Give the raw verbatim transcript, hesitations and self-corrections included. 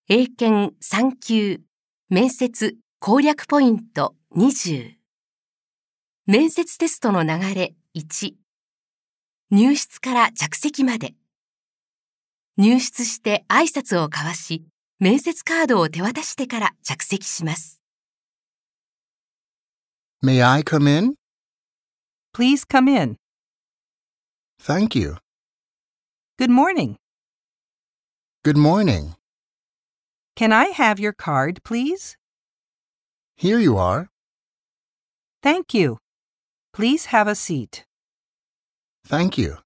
英検さん級面接攻略ポイントにじゅう。面接テストの流れいち。入室から着席まで。入室して挨拶を交わし、面接カードを手渡してから着席します。 May I come in? Please come in. Thank you. Good morning. Good morning. Can I have your card, please? Here you are. Thank you. Please have a seat. Thank you.